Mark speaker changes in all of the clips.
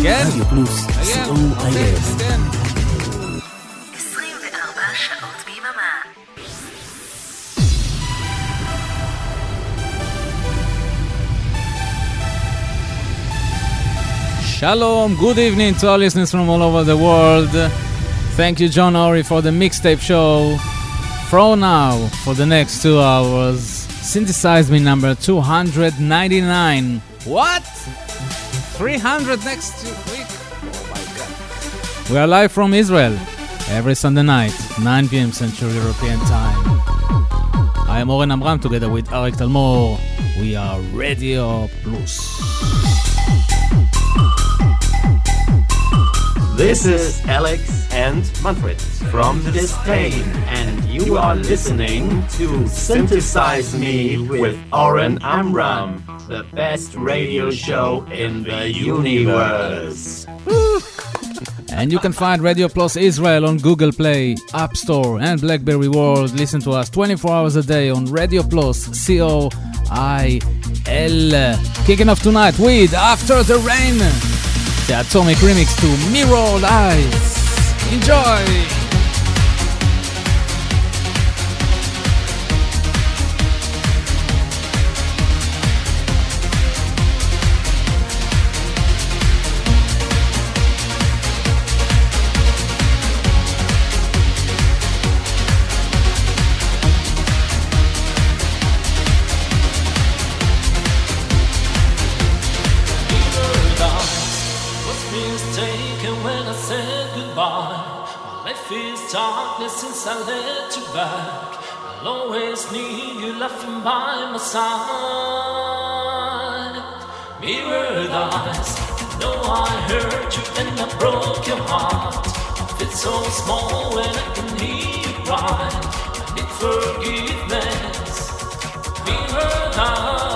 Speaker 1: כן?
Speaker 2: רדיו פלוס, co.il.
Speaker 3: 24 שעות ביממה.
Speaker 1: Shalom, good evening to our listeners from all over the world. Thank you, John Ori, for the mixtape show. From now, for the next 2 hours, synthesize me number 299. What? 300 next week? Oh my God. We are live from Israel, every Sunday night, 9 p.m. Central European Time. I am Oren Amram, together with Arik Talmor. We are Radio Plus.
Speaker 4: This is Alex and Manfred from Disdain, and you are listening to Synthesize Me with Oren Amram, the best radio show in the universe.
Speaker 1: And you can find Radio Plus Israel on Google Play, App Store, and BlackBerry World. Listen to us 24 hours a day on Radio Plus, C-O-I-L. Kicking off tonight with After the Rain, the Atomic remix to Mirrored Eyes. Enjoy!
Speaker 5: Since I let you back, I'll always need you laughing by my side. Mirrored eyes, know I hurt you and I broke your heart. I feel so small when I can hear you cry. I need forgiveness. Mirrored eyes.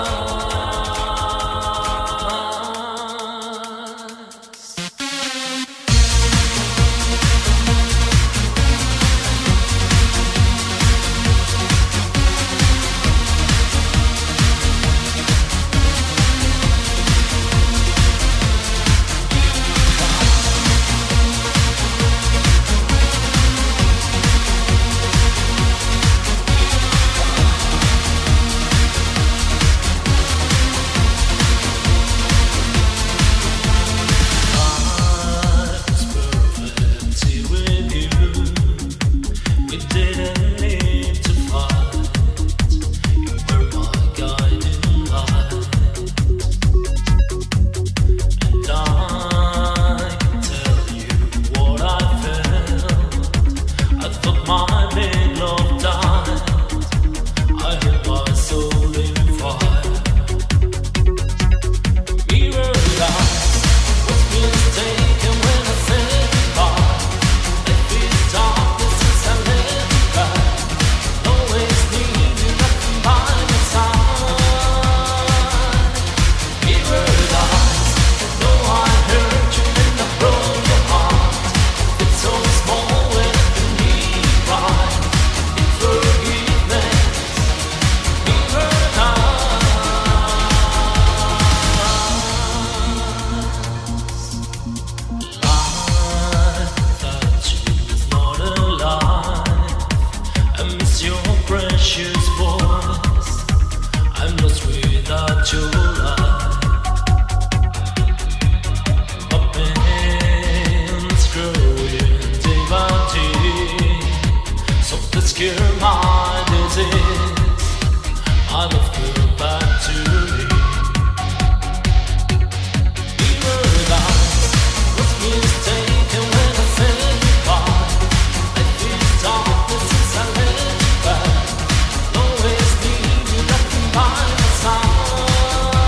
Speaker 6: Bye.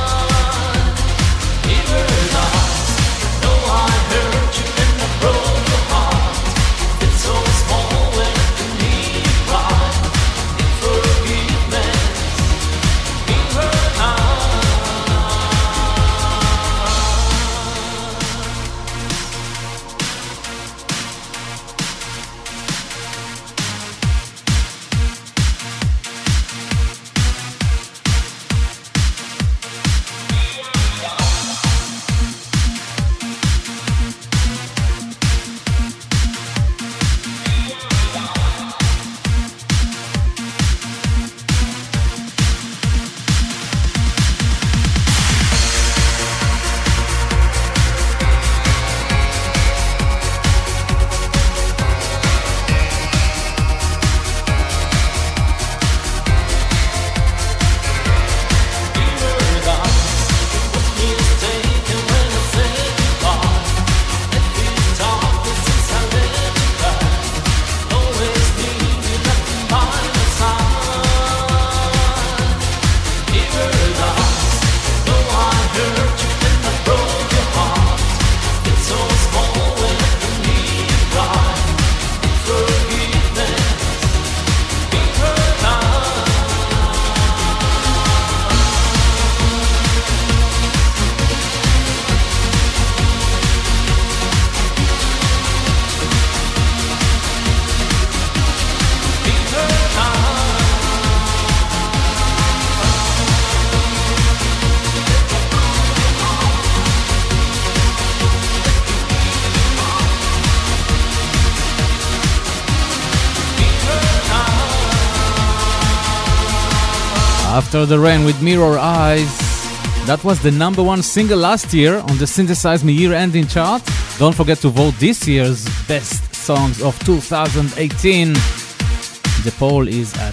Speaker 1: After the Rain with Mirror Eyes. That was the number one single last year on the Synthesize Me year-ending chart. Don't forget to vote this year's best songs of 2018. The poll is at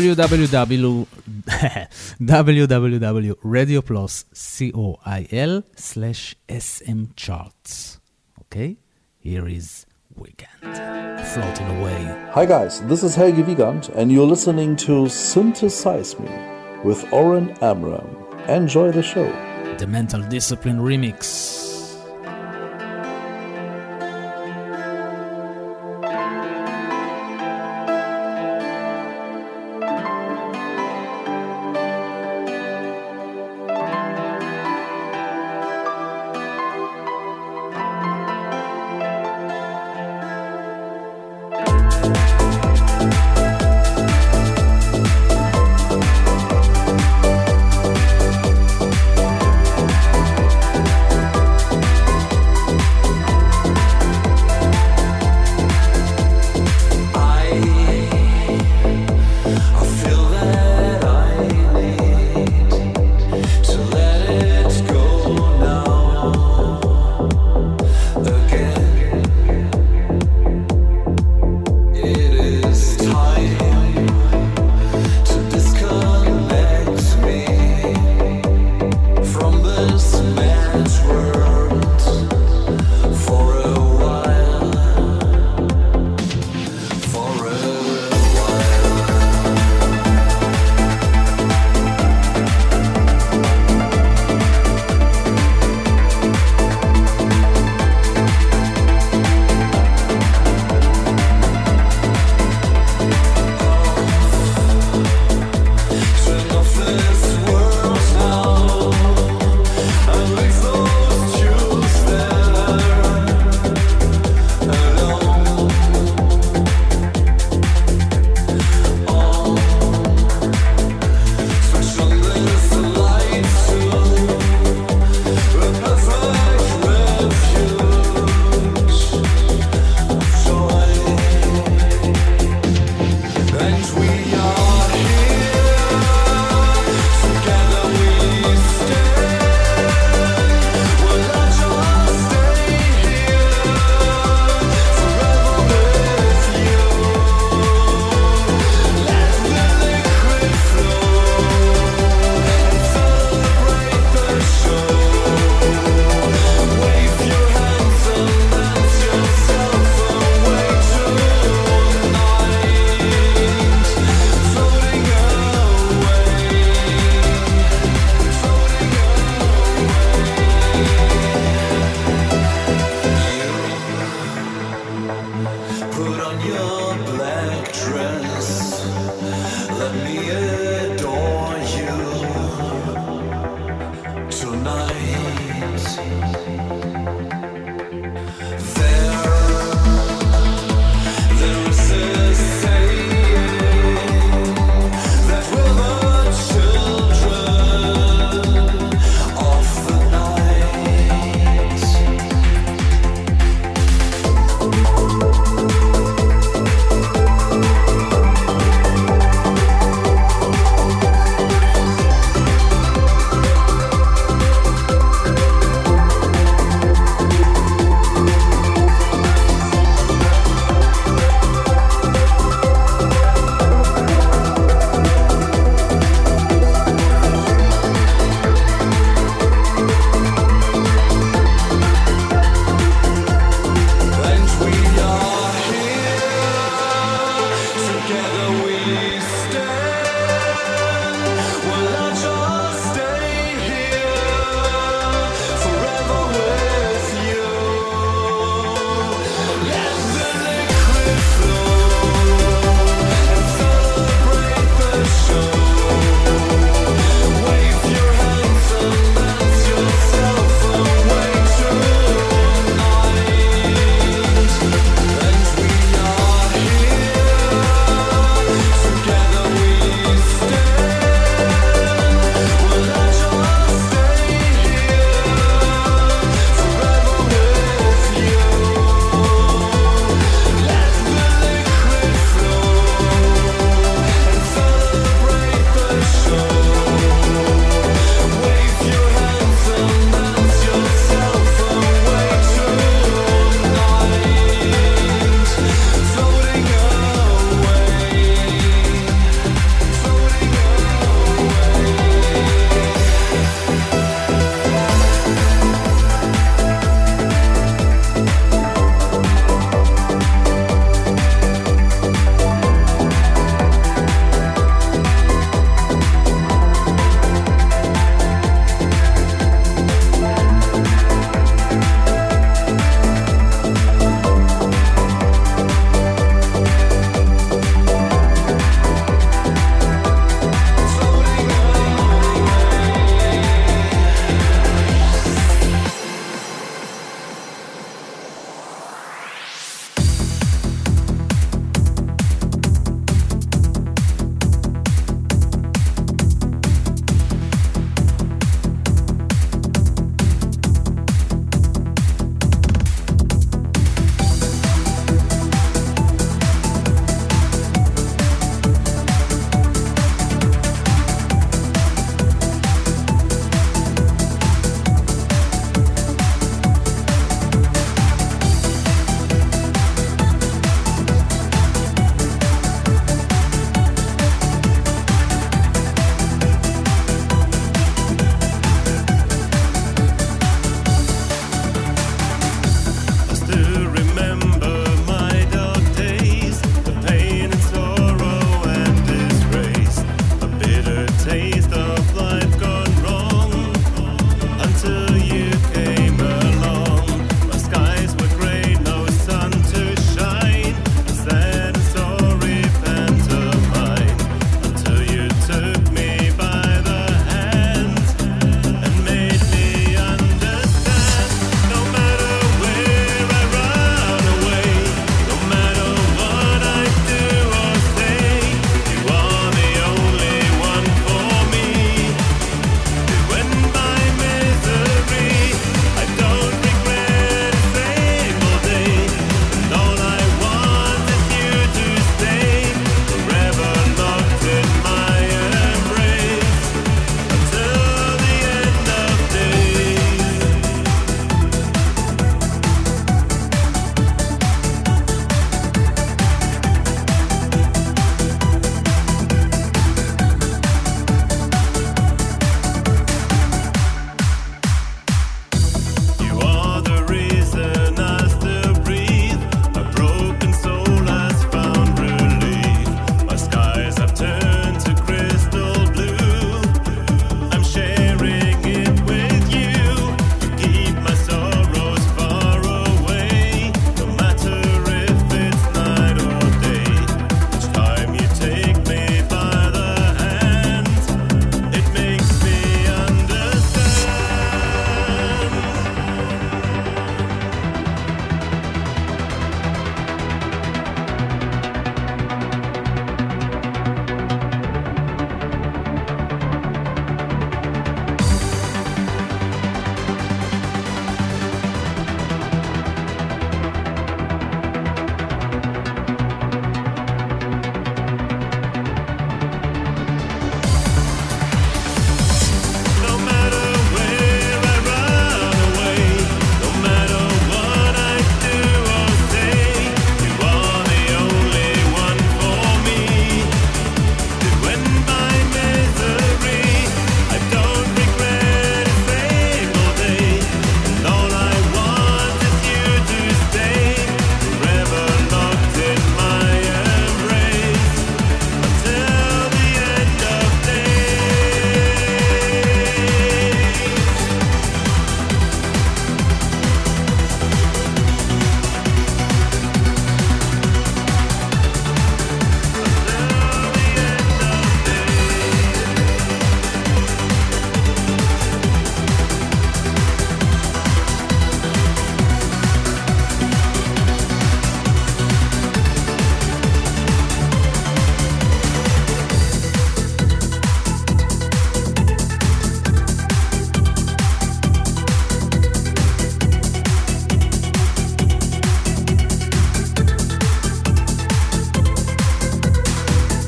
Speaker 1: www.radioplus.coil/SM charts. Okay, here is Weekend, Floating Away.
Speaker 6: Hi guys, this is Helge Wiegand and you're listening to Synthesize Me with Oren Amram. Enjoy the show.
Speaker 1: The Mental Discipline remix.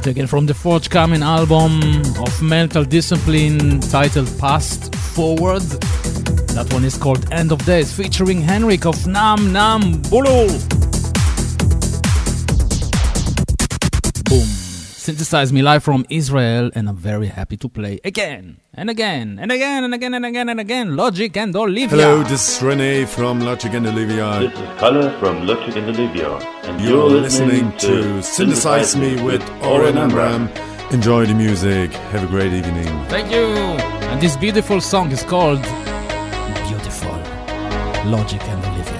Speaker 1: taken from the forthcoming album of Mental Discipline titled Past Forward. That one is called End of Days, featuring Henrik of Nam Nam Bulu. Boom. Synthesize Me live from Israel, and I'm very happy to play again and again and again and again and again and again. Logic and Olivia.
Speaker 7: Hello, this is Rene from Logic and Olivia.
Speaker 8: This is Kalle from Logic and Olivia. And
Speaker 7: you're listening to Synthesize Me with Oren Amram. Enjoy the music. Have a great evening.
Speaker 1: Thank you. And this beautiful song is called Beautiful. Logic and Olivia.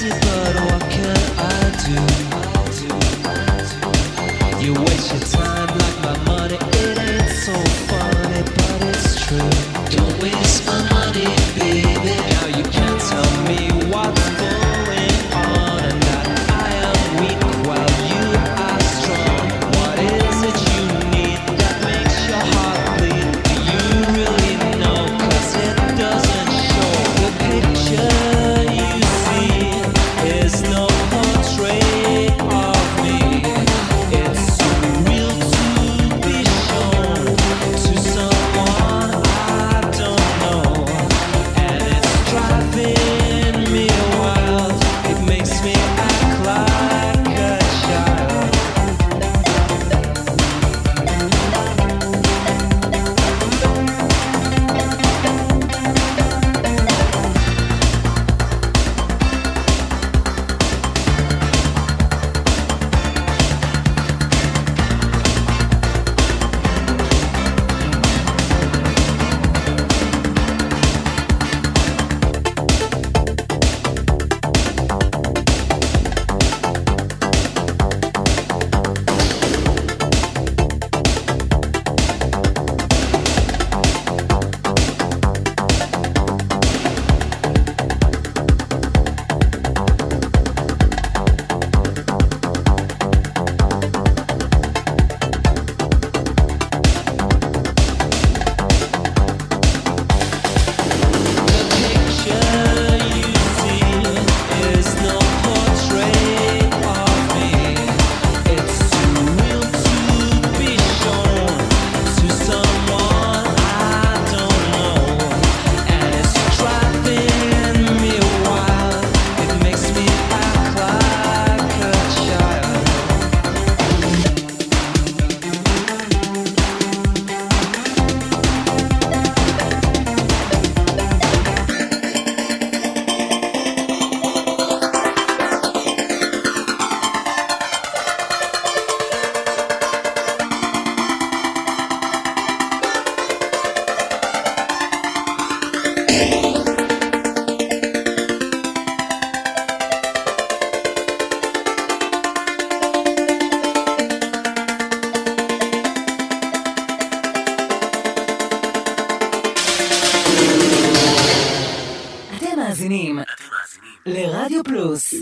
Speaker 9: easy, but what can I do? You waste your time like my money. It ain't so funny, but it's true. Don't waste my money, baby. Now you can't tell me what's going on, and that I am weak while you are strong. What is it you need that makes your heart bleed? Do you really know? 'Cause it doesn't show. The picture you see is no portrait of me. It's too real to be shown to someone I don't know, and it's driving me wild. It makes me act like a child.
Speaker 3: אתם מאזינים לרדיו פלוס.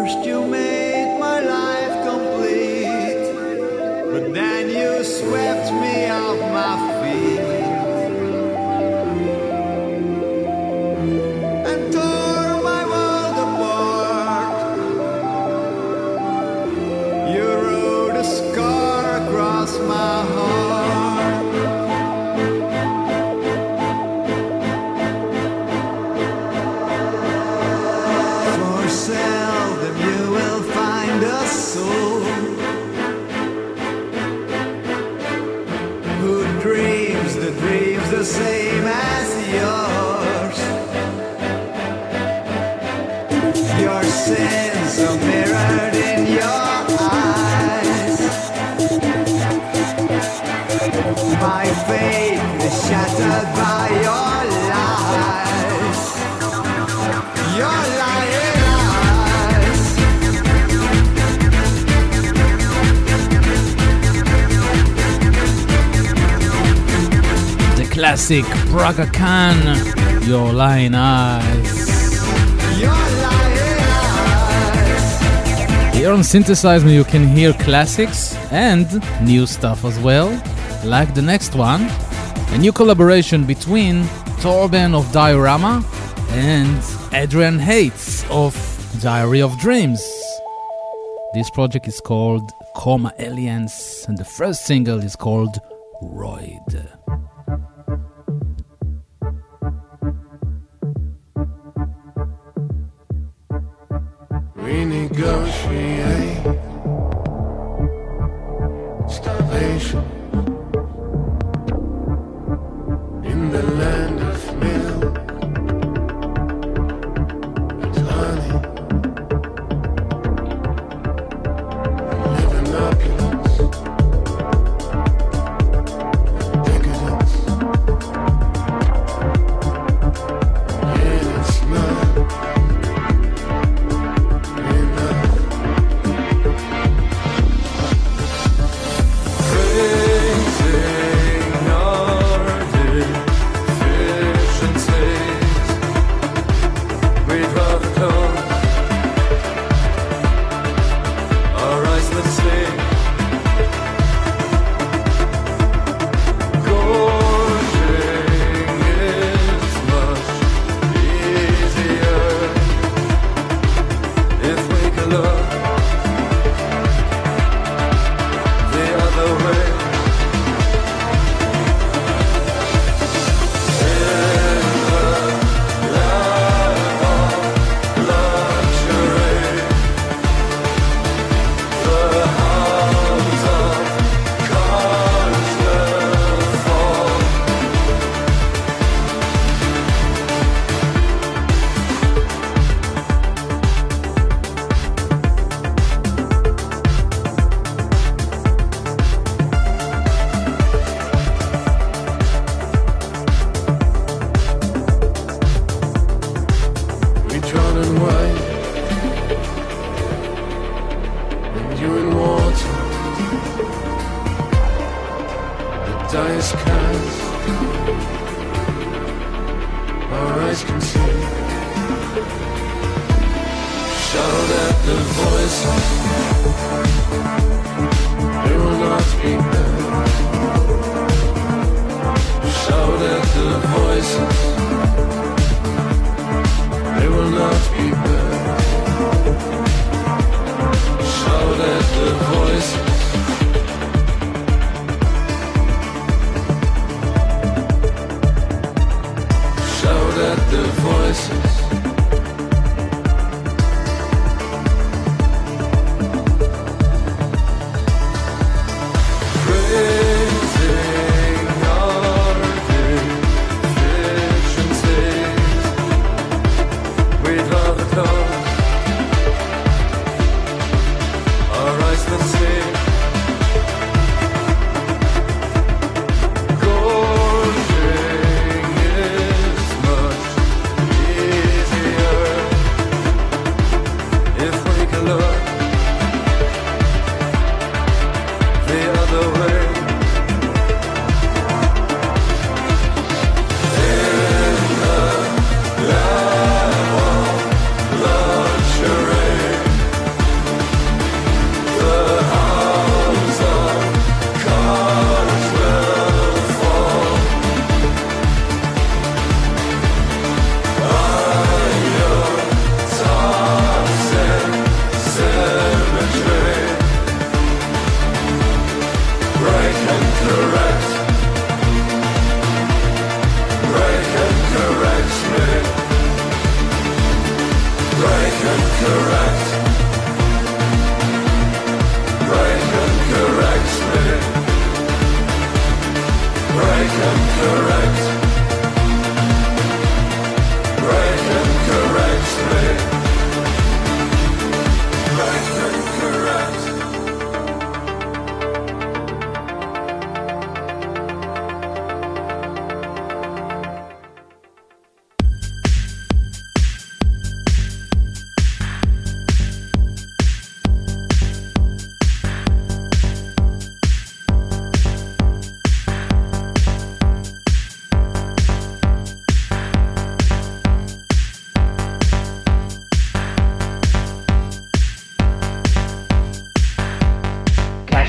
Speaker 10: First you made my life complete, but then you swept me off my feet and tore my world apart. You wrote a scar across my heart. For seldom you will find a soul who dreams the dreams the same as yours. Your sins are mirrored in your eyes. My faith is shattered by your lies. Your lying eyes.
Speaker 1: The classic Braga Khan, Your Lying Eyes.
Speaker 10: Your lying eyes.
Speaker 1: Here on Synthesize Me you can hear classics and new stuff as well, like the next one, a new collaboration between Torben of Diorama and Adrian Hates of Diary of Dreams. This project is called Coma Aliens and the first single is called Roid.
Speaker 11: We negotiate starvation in the land of milk and honey. Live in opulence, decadence. Yeah, it's not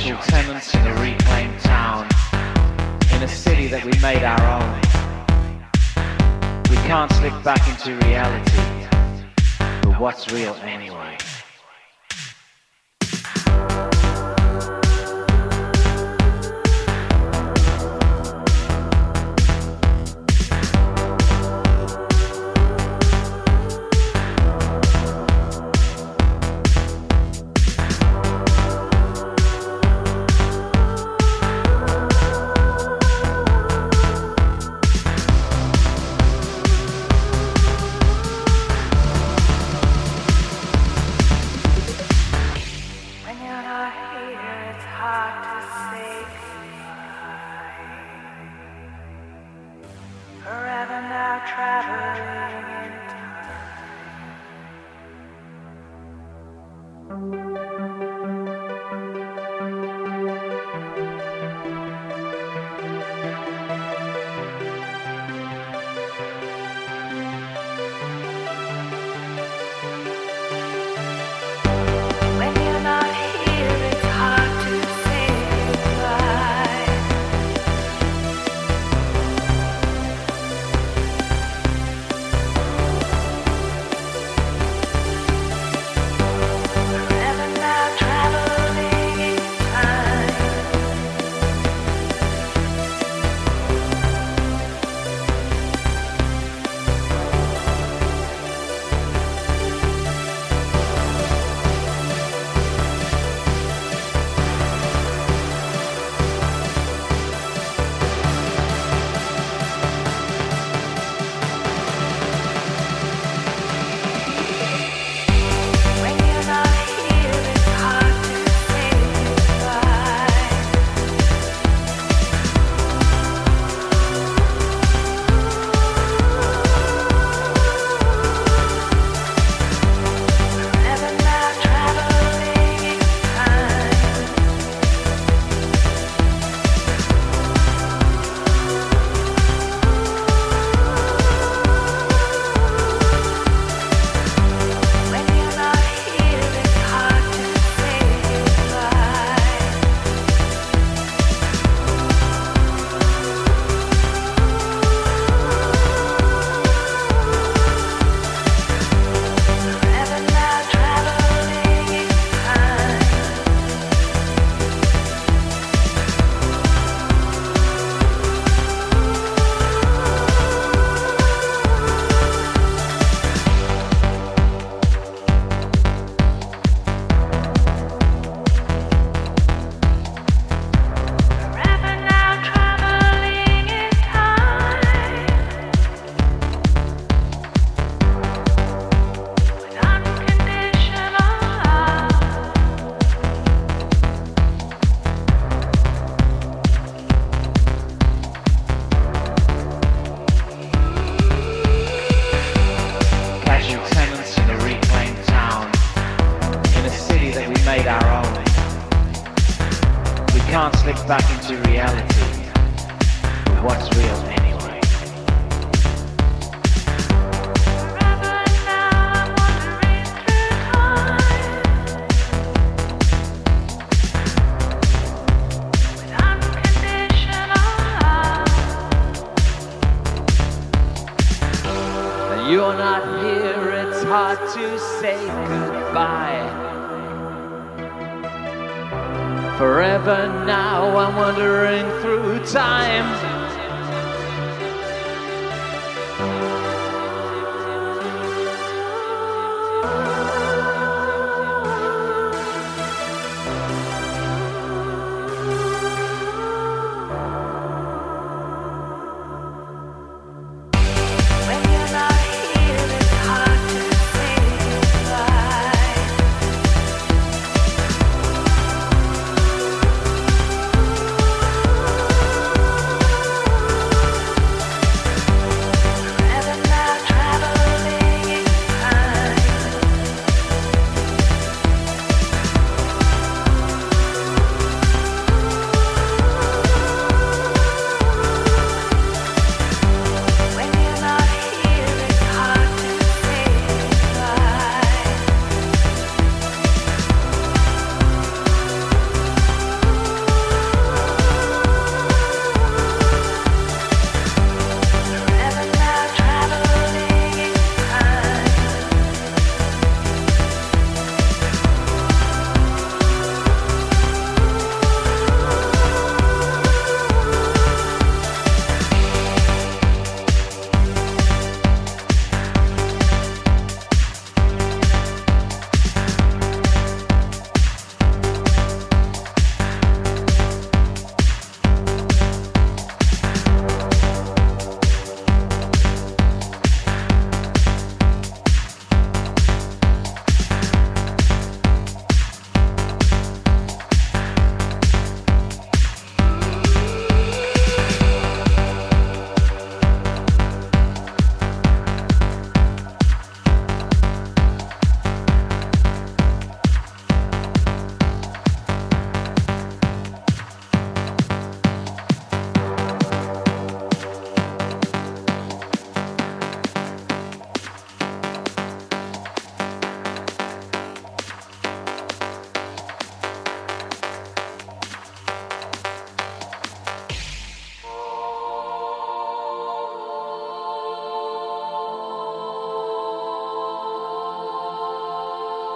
Speaker 12: Casual tenants in a reclaimed town, in a city that we made our own. We can't slip back into reality, but what's real anyway?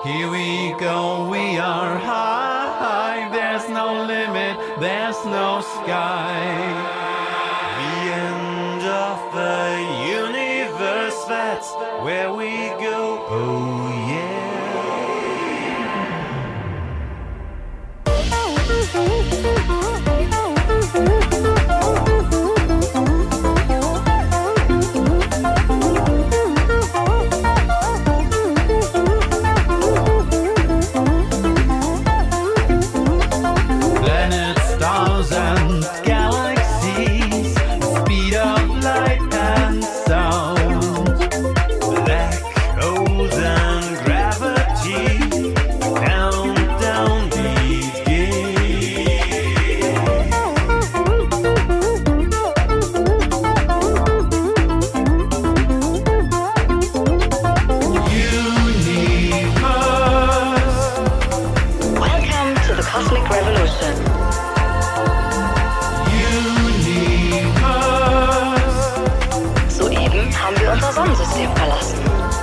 Speaker 10: Here we go, we are high. There's no limit, there's no sky. The end of the universe, that's where we go. Oh yeah. Planets, stars and galaxies, the speed of light and sound. Black holes and gravity, countdown
Speaker 3: Welcome to the Cosmic Revolution. Soeben haben wir unser Sonnensystem verlassen.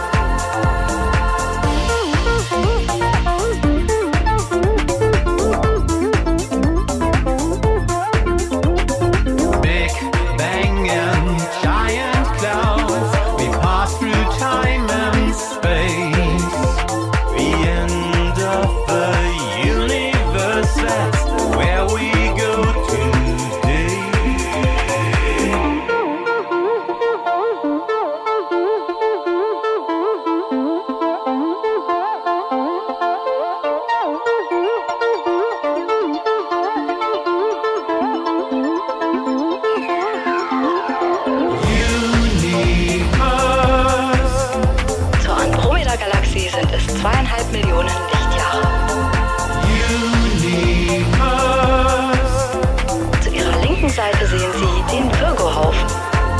Speaker 10: Big Bang and giant clouds, we pass through time and space. The end of the universe, that's where we go today.
Speaker 3: Zur Andromeda-Galaxie sind es 2,5 Millionen Lichtjahre. Zu ihrer linken Seite sehen Sie den Virgo-Haufen.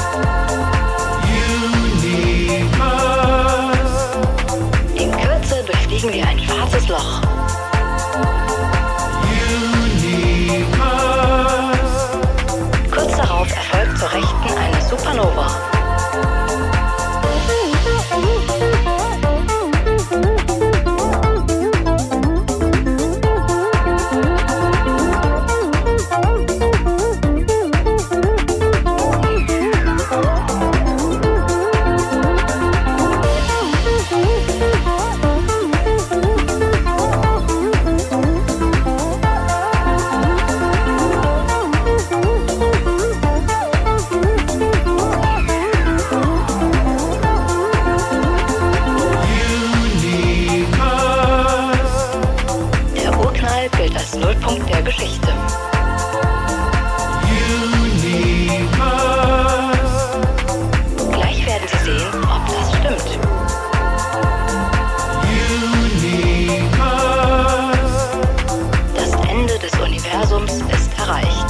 Speaker 3: In Kürze durchfliegen wir ein schwarzes Loch. Kurz darauf erfolgt zur Rechten eine Supernova. Der Urknall gilt als Nullpunkt der Geschichte. Gleich werden Sie sehen, ob das stimmt. Das Ende des Universums ist erreicht.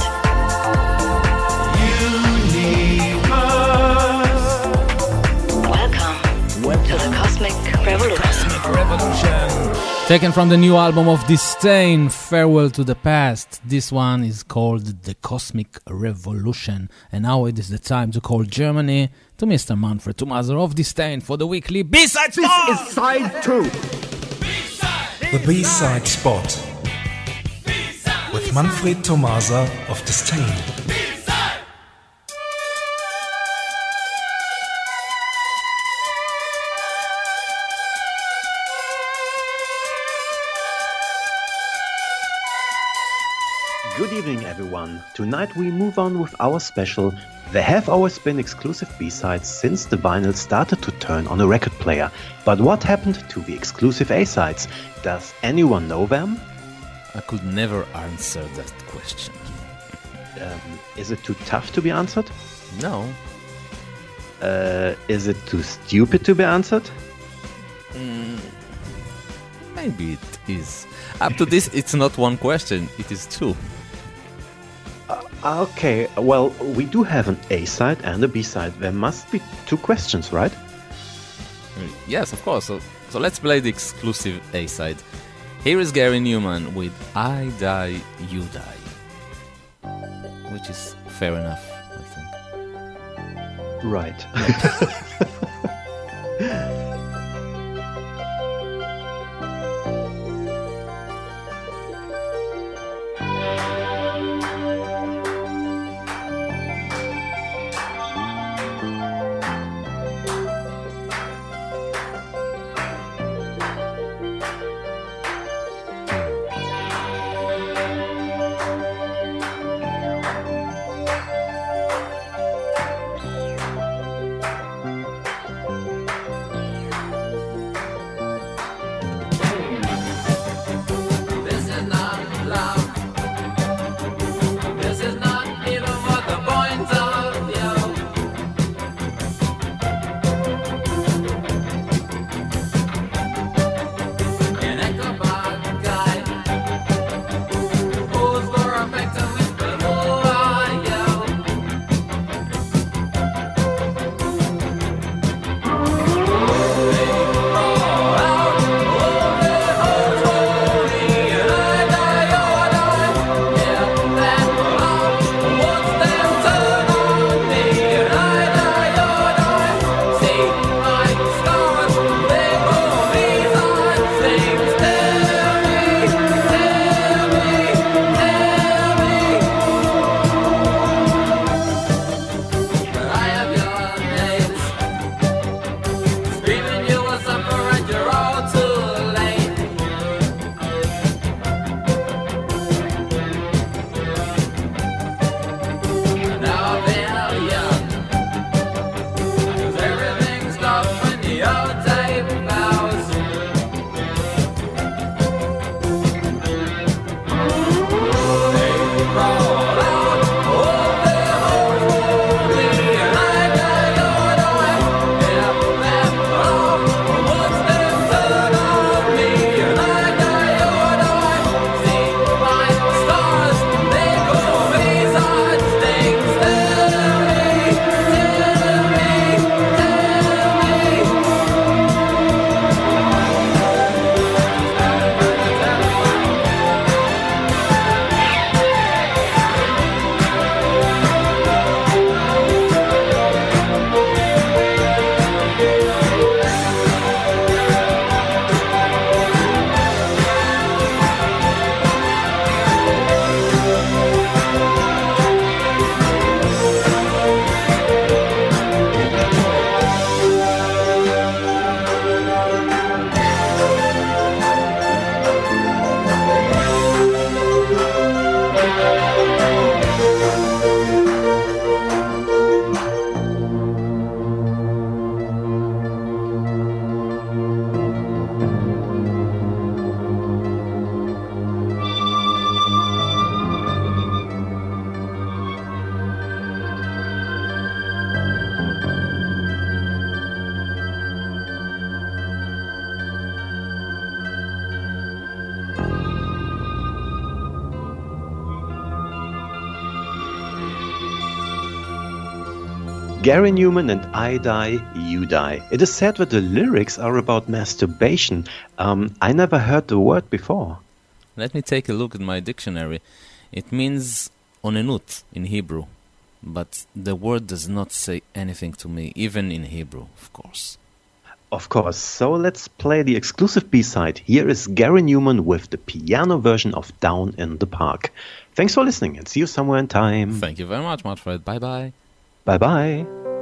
Speaker 3: Welcome to the Cosmic Revolution.
Speaker 1: Taken from the new album of Disdain, Farewell to the Past. This one is called The Cosmic Revolution. And now it is the time to call Germany to Mr. Manfred Thomaser of Disdain for the weekly B-Side Spot!
Speaker 13: This is side 2.
Speaker 14: The B-Side Spot. With Manfred Thomaser of Disdain.
Speaker 4: Good evening, everyone. Tonight we move on with our special. There have always been exclusive B-sides since the vinyl started to turn on a record player. But what happened to the exclusive A-sides? Does anyone know them?
Speaker 1: I could never answer that question.
Speaker 4: Is it too tough to be answered?
Speaker 1: No.
Speaker 4: Is it too stupid to be answered?
Speaker 1: Maybe it is. Up to this, it's not one question, it is two.
Speaker 4: Okay, well, we do have an A-side and a B-side. There must be two questions, right?
Speaker 1: Yes, of course. So let's play the exclusive A-side. Here is Gary Newman with I Die, You Die. Which is fair enough, I think.
Speaker 4: Right.
Speaker 13: Gary Newman and I Die, You Die. It is said that the lyrics are about masturbation. I never heard the word before.
Speaker 1: Let me take a look at my dictionary. It means onenut in Hebrew, but the word does not say anything to me, even in Hebrew, of course.
Speaker 13: Of course, so let's play the exclusive B-side. Here is Gary Newman with the piano version of Down in the Park. Thanks for listening and see you somewhere in time.
Speaker 1: Thank you very much, Manfred. Bye-bye.
Speaker 13: Bye-bye.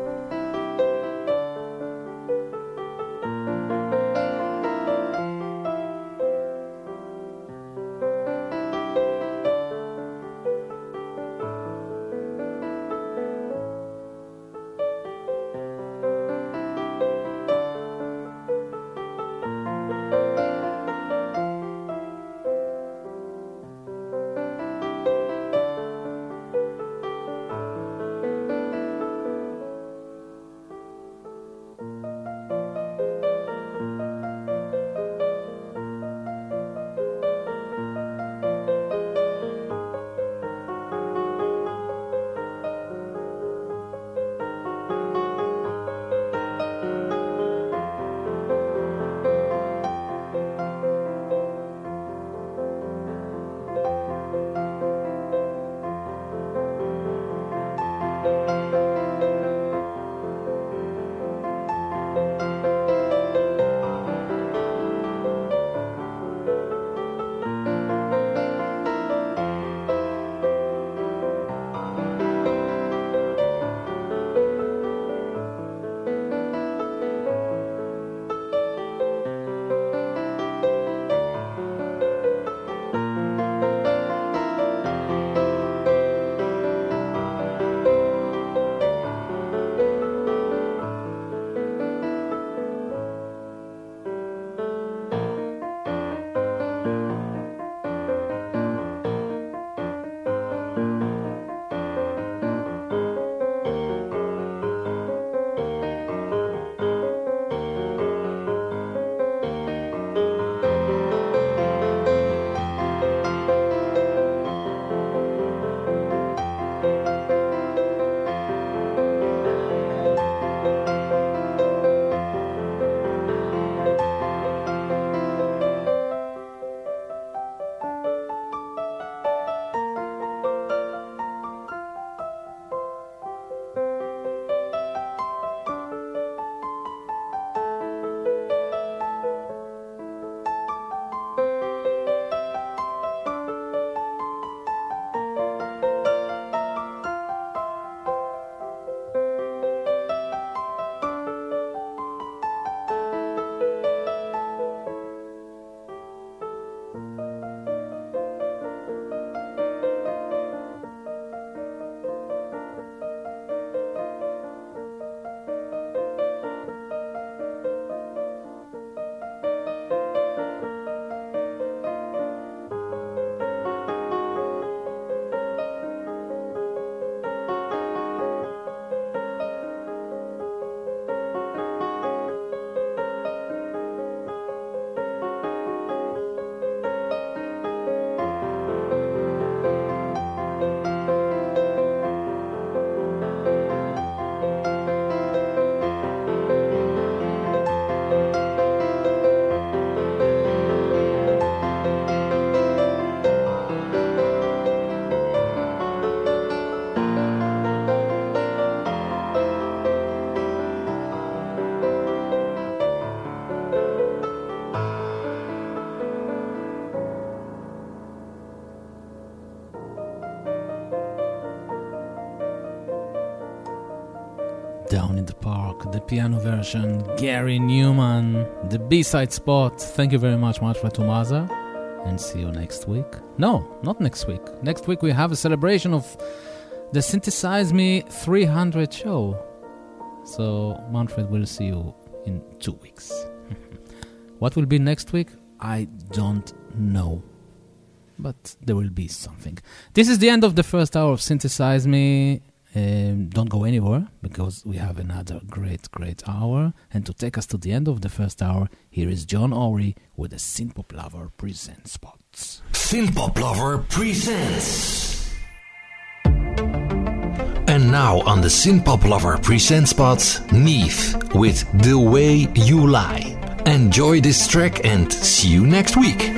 Speaker 1: Down in the Park, the piano version, Gary Newman, the B-side spot. Thank you very much, Manfred Tomaza, and see you next week. No, not next week. Next week we have a celebration of the Synthesize Me 300 show. So Manfred will see you in 2 weeks. What will be next week? I don't know. But there will be something. This is the end of the first hour of Synthesize Me. Don't go anywhere, because we have another great hour. And to take us to the end of the first hour, here is John Ory with the Synthpop Lover Presents spots.
Speaker 14: Synthpop Lover presents. And
Speaker 15: And now on the Synthpop Lover present spot, Neve with The Way You Lie. Enjoy this track and see you next week.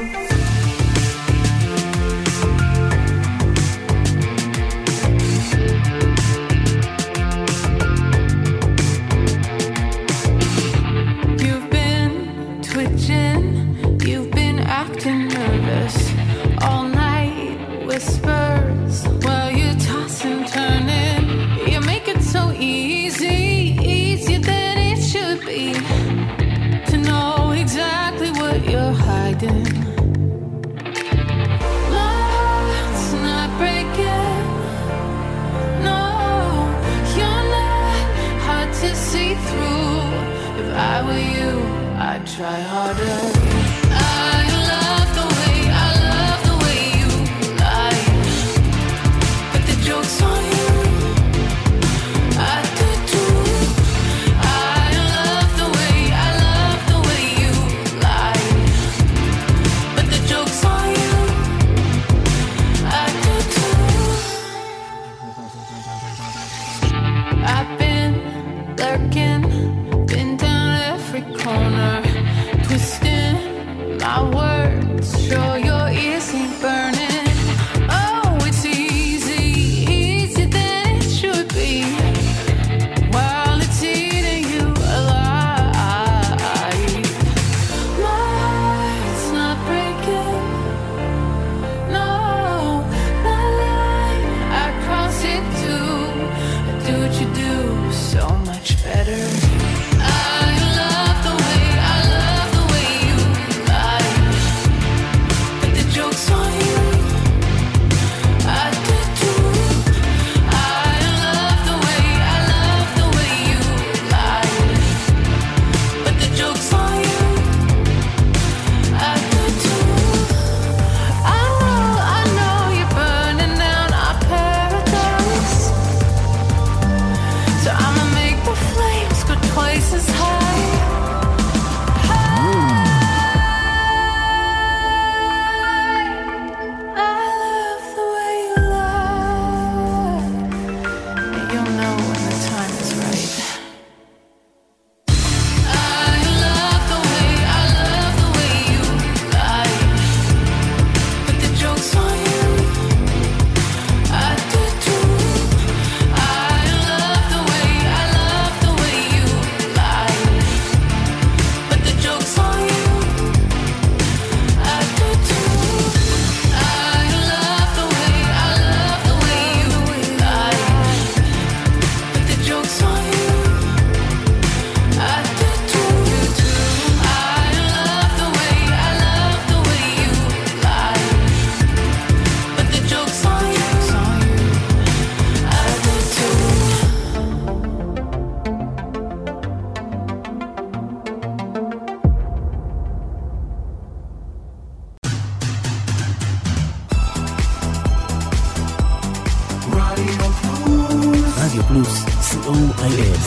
Speaker 16: Try harder. I love the way you lie, but the joke's on you. I do too. I love the way you lie, but the joke's on you. I do too. I've been lurking, been down every corner. My words show your ears ain't burning. Oh, it's easier than it should be. While it's eating you alive, my heart's not breaking. No, not like I cross it too. I do what you do so much better.
Speaker 2: רדיו פלוס, COIF.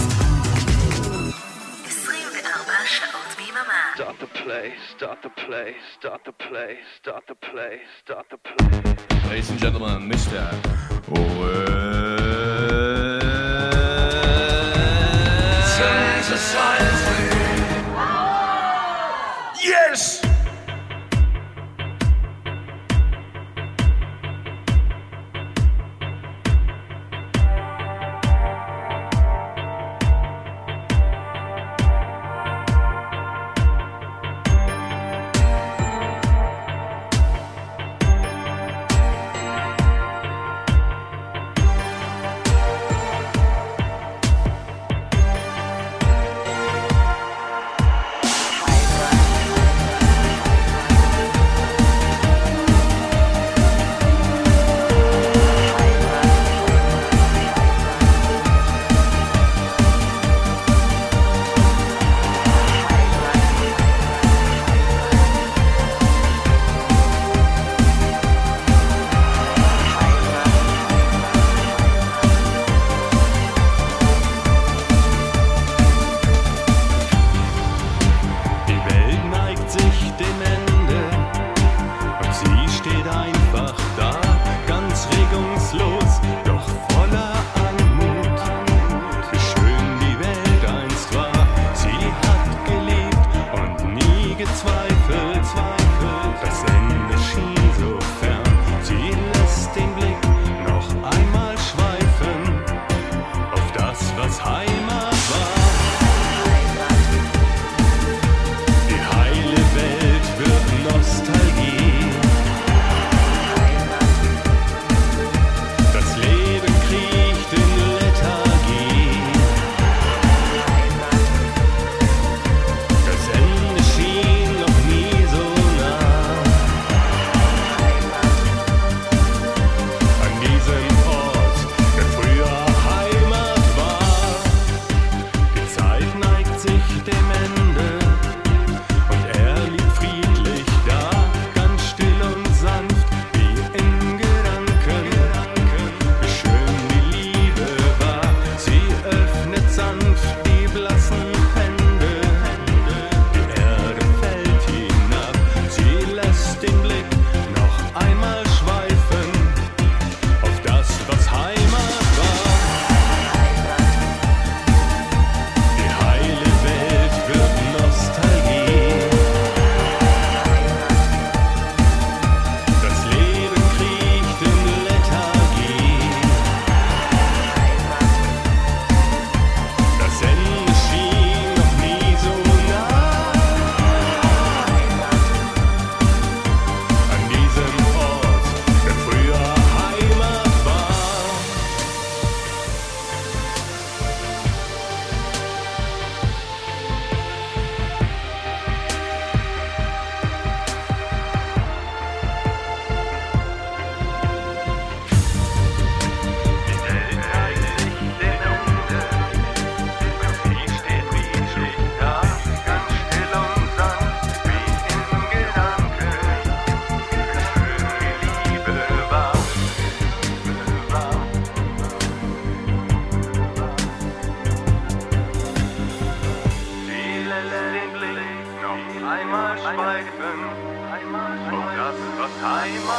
Speaker 3: 24 שעות ביממה.
Speaker 10: Start the play, start the play, start the play, start the play, start the play.
Speaker 17: Ladies and gentlemen, Mr.
Speaker 10: Synthesize me. Yes!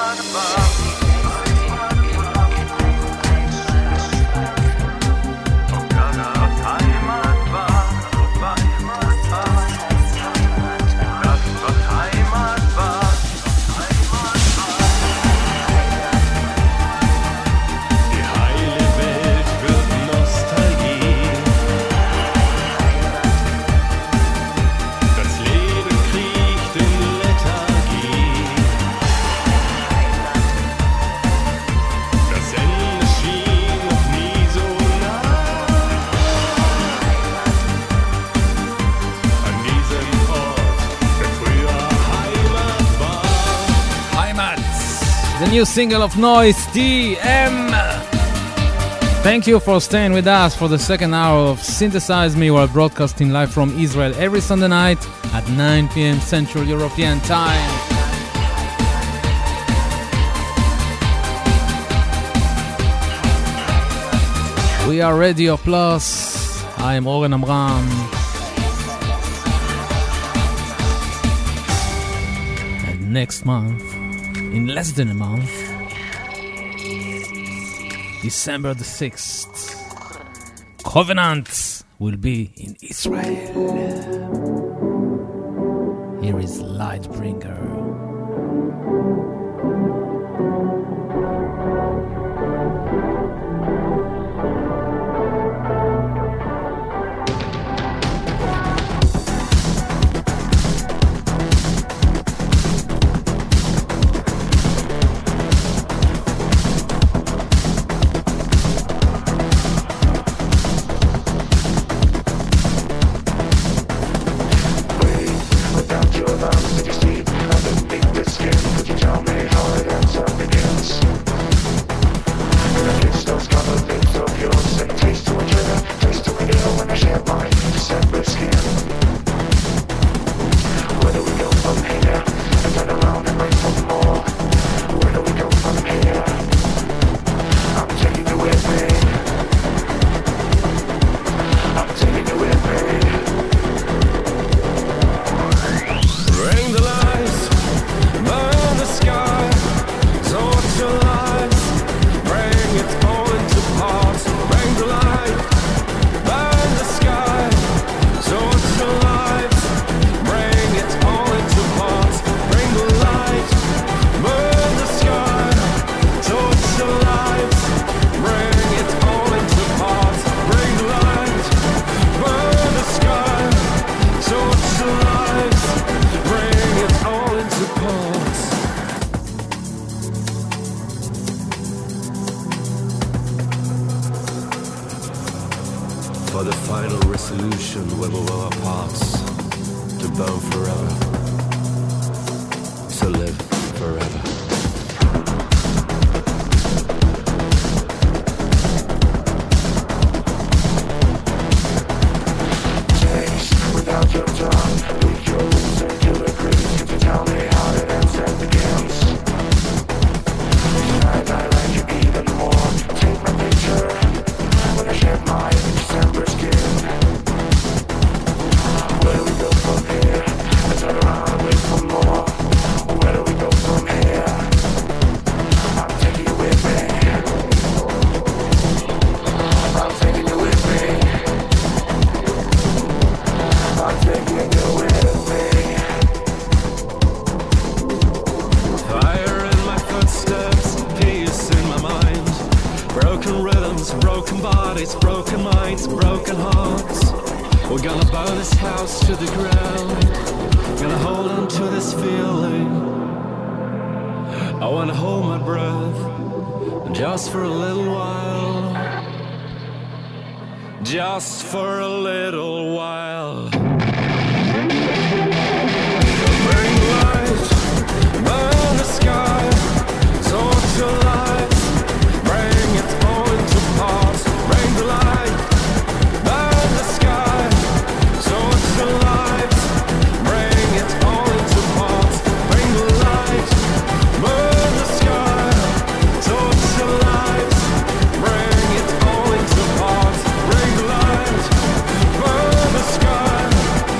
Speaker 1: New single of Noise, DM. Thank you for staying with us for the second hour of Synthesize Me. We're broadcasting live from Israel every Sunday night at 9 p.m. Central European Time. We are Radio Plus. I am Oren Amram. And next month, in less than a month, December the 6th, Covenant will be in Israel. Here is Lightbringer.
Speaker 18: Just for a little while. Bring light, burn the sky, torch your lights, bring it all into parts. Bring the light, burn the sky, torch your lights, bring it all into parts. Bring the light, burn the sky, torch your lights, bring it all into parts. Bring the light, burn the sky,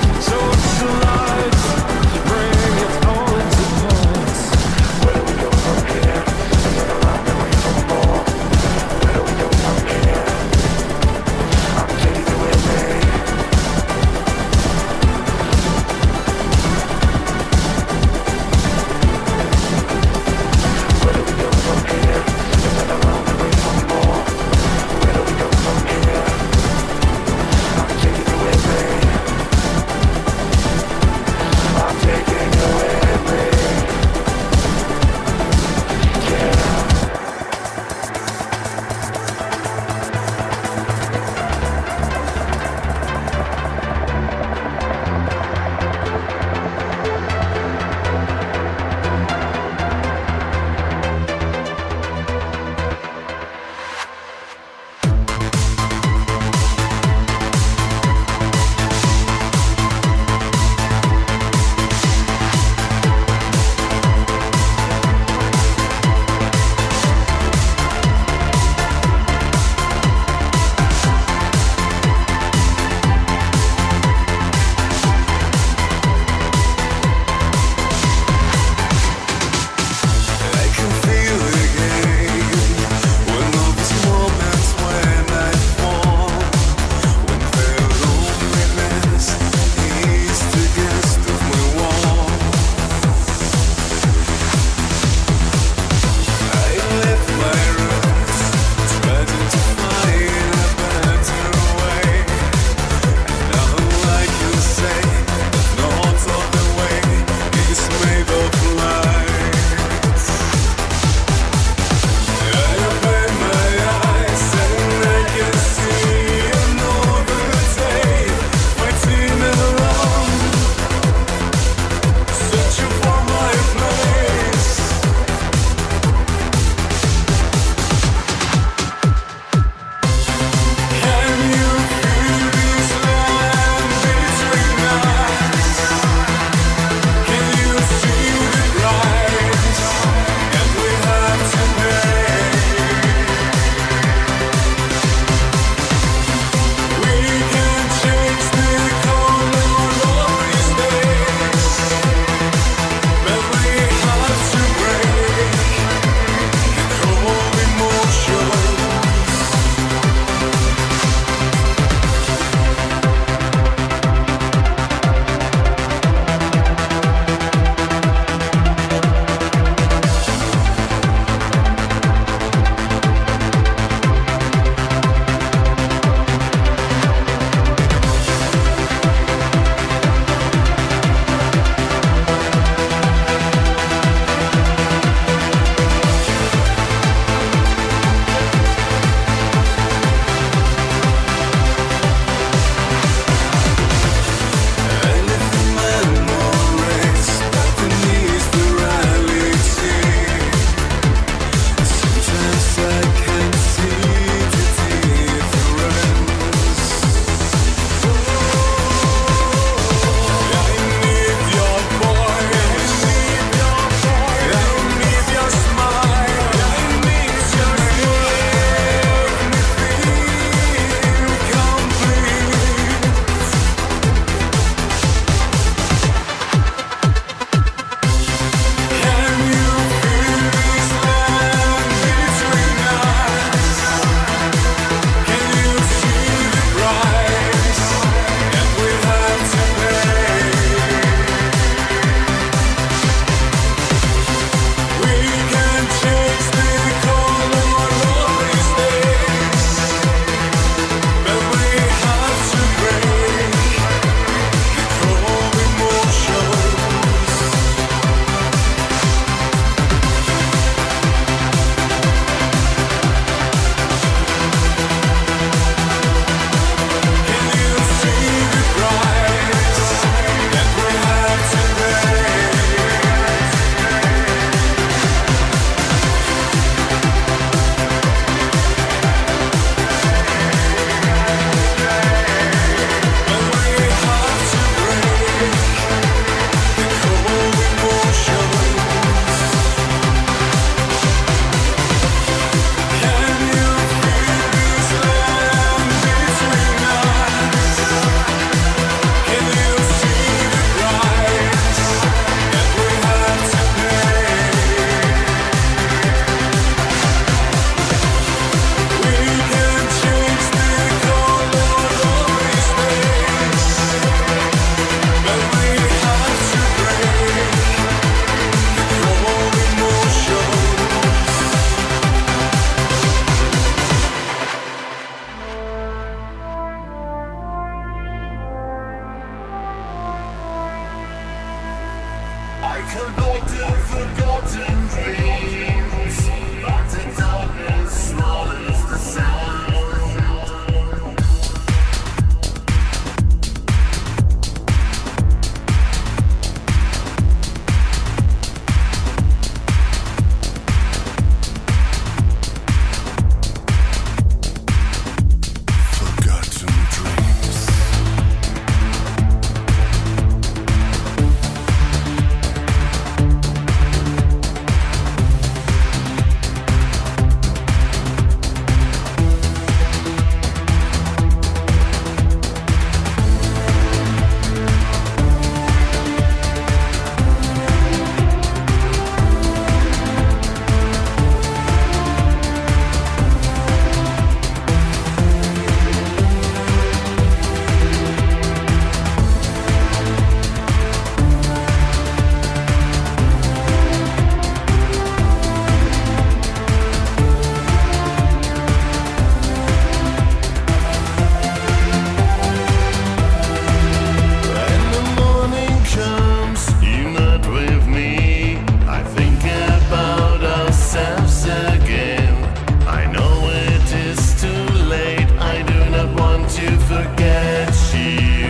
Speaker 18: ourselves again. I know it is too late. I do not want to forget you.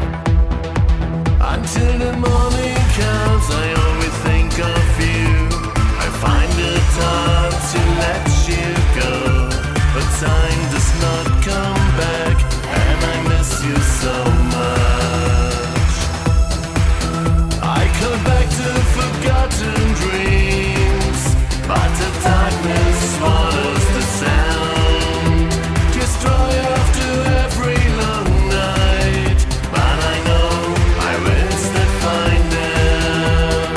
Speaker 18: Until the morning comes, I always think of you. I find it hard to let you go, but time does not come back, and I miss you so much. I come back to forgotten dreams, but the darkness swallows the sound. Destroy after every long night, but I know I will still find them.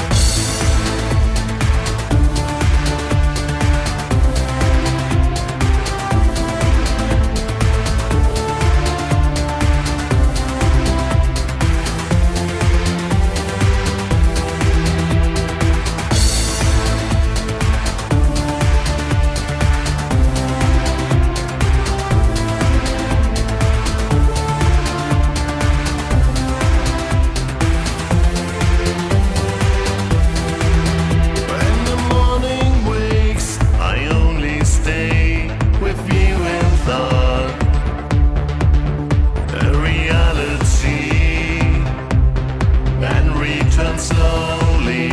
Speaker 18: When the morning wakes, I only stay with you in thought. A reality, and return slowly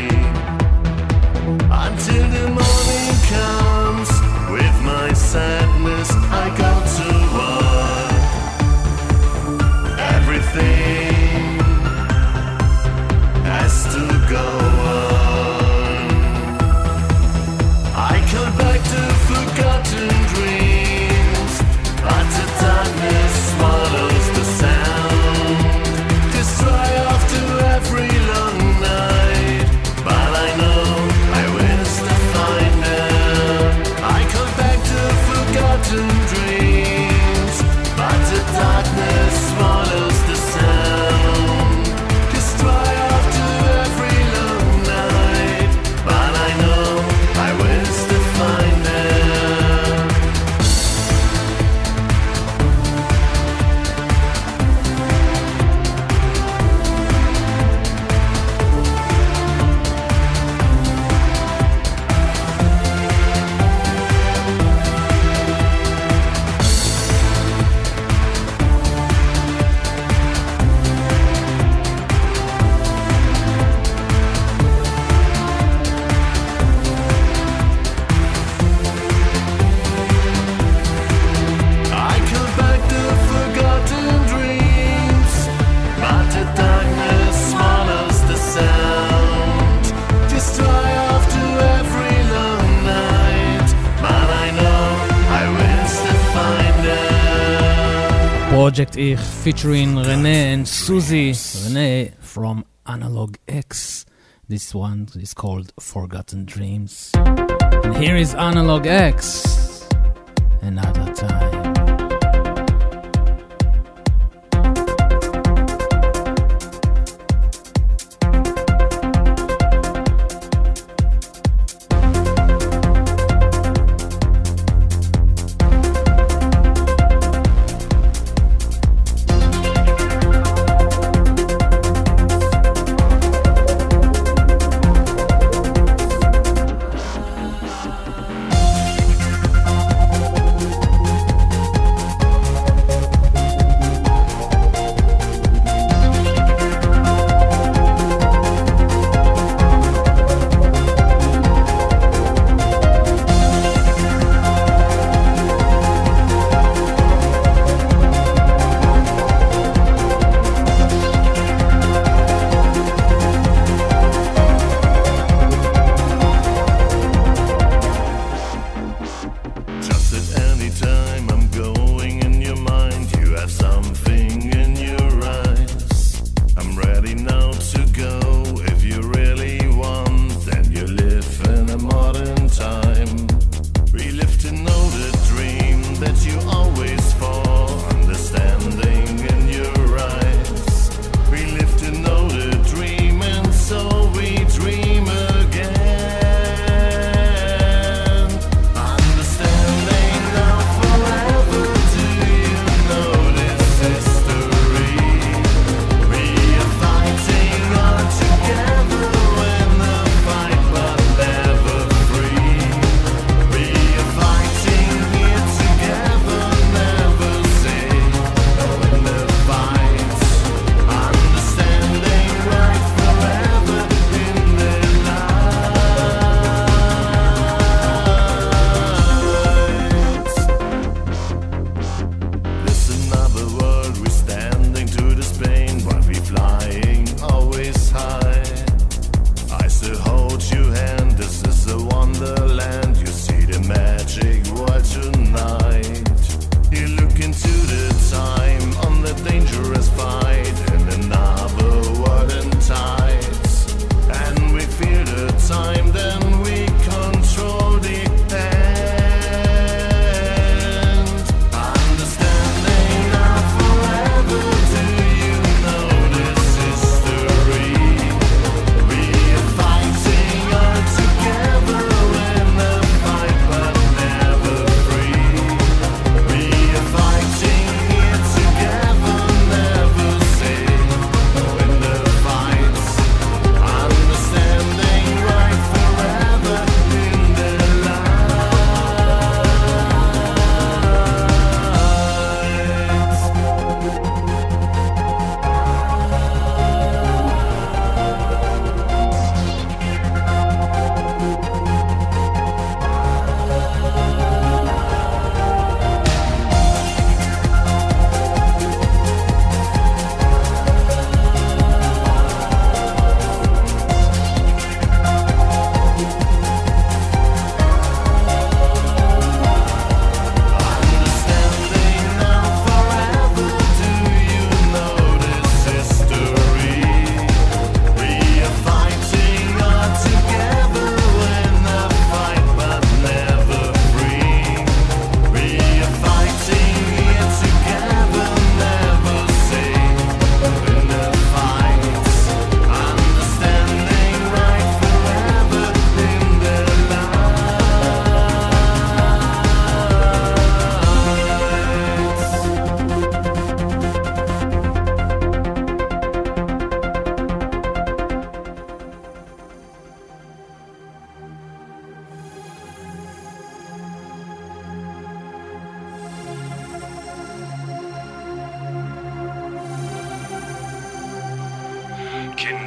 Speaker 18: until the morning comes. With my sadness, I go to work. Everything has to go on. I come back to forgotten dreams, but the darkness swallows the sound. Destroy after every long night, but I know I will still find them. I come back to forgotten dreams, but the darkness swallows the sound. Destroy after every long night, but I know I will still find them. I come back to forgotten dreams, but the darkness swallows the sound. Destroy after every long night, but I know I will still find them.
Speaker 1: Project Ich featuring Renee and Susie. Renee from Analog X. This one is called Forgotten Dreams. And here is Analog X. Another time.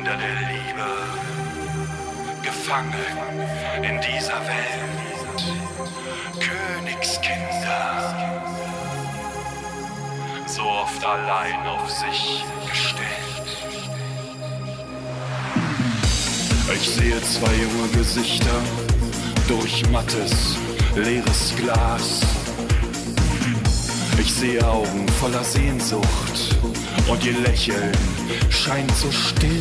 Speaker 19: Kinder der Liebe, gefangen in dieser Welt, Königskinder, so oft allein auf sich gestellt. Ich sehe zwei junge Gesichter durch mattes, leeres Glas. Ich sehe Augen voller Sehnsucht und ihr Lächeln scheint so still.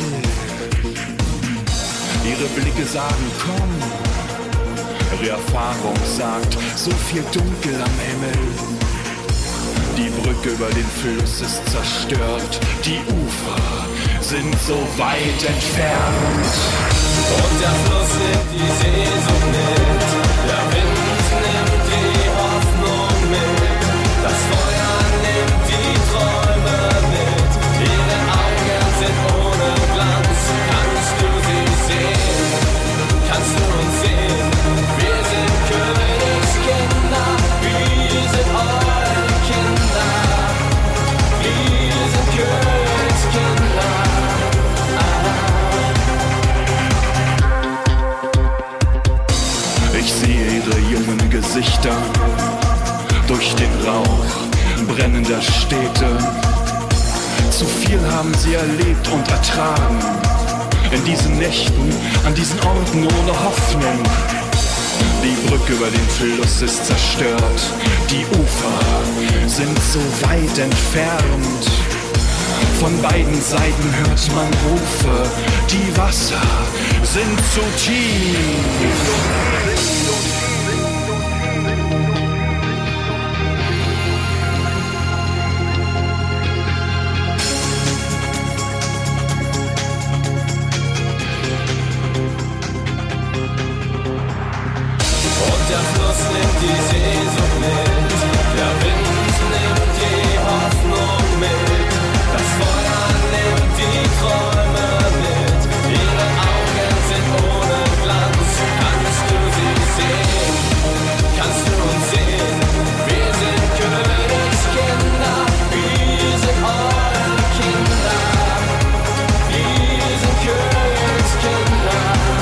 Speaker 19: Ihre Blicke sagen, komm. Ihre Erfahrung sagt, so viel Dunkel am Himmel. Die Brücke über den Fluss ist zerstört, die Ufer sind so weit entfernt.
Speaker 18: Und der Fluss nimmt die Sehnsucht mit, der Wind nimmt die Hoffnung mit, das Feuer nimmt die Träume mit, ihre Augen sind ohne Glanz. Kannst du sie sehen? Kannst du uns sehen? Wir sind Königskinder, wir sind eure Kinder, wir sind Königskinder.
Speaker 19: Ich sehe ihre jungen Gesichter durch den Rauch brennender Städte. Zu viel haben sie erlebt und ertragen. In diesen Nächten, an diesen Orten ohne Hoffnung. Die Brücke über den Fluss ist zerstört. Die Ufer sind so weit entfernt. Von beiden Seiten hört man Rufe. Die Wasser sind zu tief.
Speaker 18: Und der Fluss nimmt die Sehnsucht mit, der Wind nimmt die Hoffnung mit, das Feuer nimmt die Träume mit, ihre Augen sind ohne Glanz. Kannst du sie sehen? Kannst du uns sehen? Wir sind Königskinder, wir sind eure Kinder, wir sind Königskinder.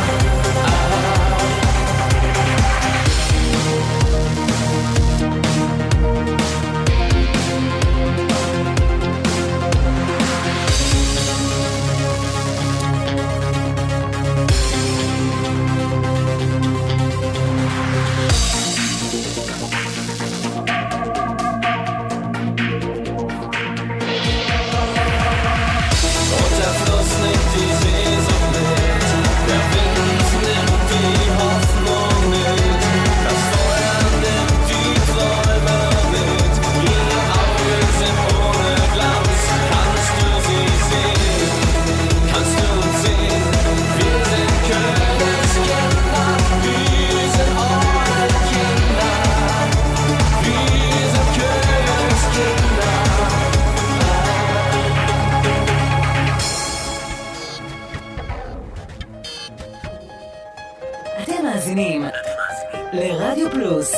Speaker 20: אתם מאזינים לרדיו פלוס.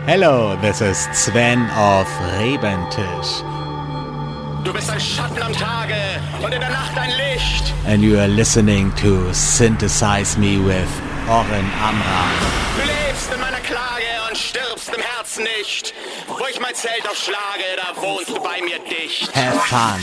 Speaker 21: Hello, this is Sven of Rebentisch.
Speaker 22: Du bist ein Schatten am Tage und in der Nacht ein Licht.
Speaker 21: And you are listening to Synthesize Me with Oren Amram.
Speaker 22: Du lebst in meiner Klage und stirbst im Herzen nicht. Wo ich mein Zelt aufschlage, da wohnst du bei mir dicht.
Speaker 21: Have fun.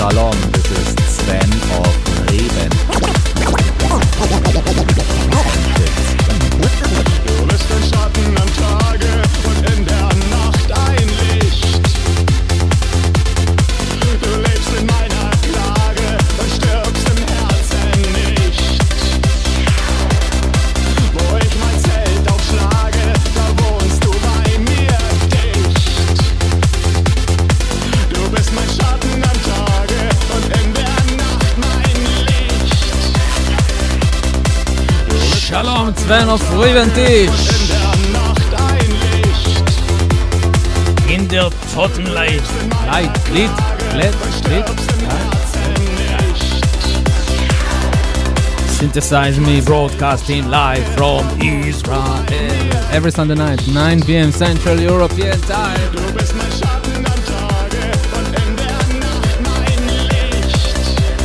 Speaker 21: Shalom, this is Sven of Reben.
Speaker 18: Du bist ein Schatten am Tage und in der Nacht ein Licht. Du lebst in meiner Klage und stirbst im Herzen nicht. Wo ich mein Zelt aufschlage, da wohnst du bei mir dicht. Du bist mein Schatten am Tage und in der Nacht mein Licht.
Speaker 1: Shalom, Sven of Reventish. In der Totenleid. Lied. Synthesize Me, broadcasting live from Israel. Every Sunday night, 9 p.m. Central European Time.
Speaker 18: Du bist mein Schatten am Tage und in der Nacht mein Licht.